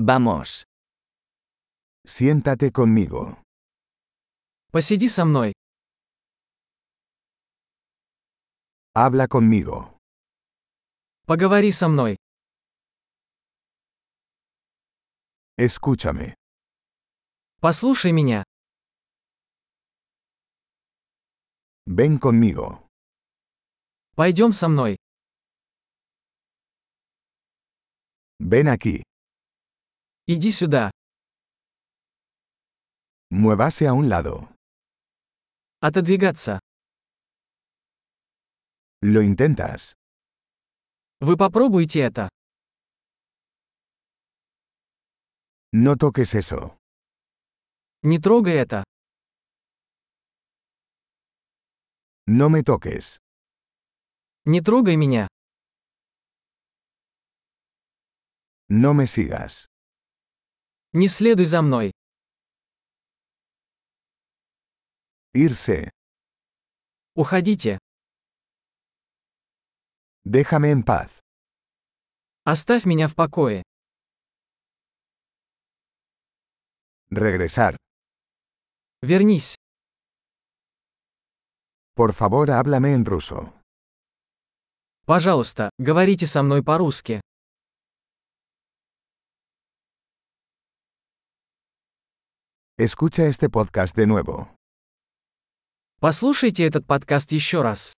Vamos. Siéntate conmigo. Посиди со мной. Habla conmigo. Поговори со мной. Escúchame. Послушай меня. Ven conmigo. Пойдем со мной. Ven aquí. Иди сюда. Muévase a un lado. Отодвигаться. ¿Lo intentas? Вы попробуйте это. No toques eso. Не трогай это. No me toques. Не трогай меня. No me sigas. Не следуй за мной. Irse. Уходите. Déjame en paz. Оставь меня в покое. Regresar. Вернись. Por favor, háblame en ruso. Пожалуйста, говорите со мной по-русски. Escucha este podcast de nuevo. Послушайте этот подкаст еще раз.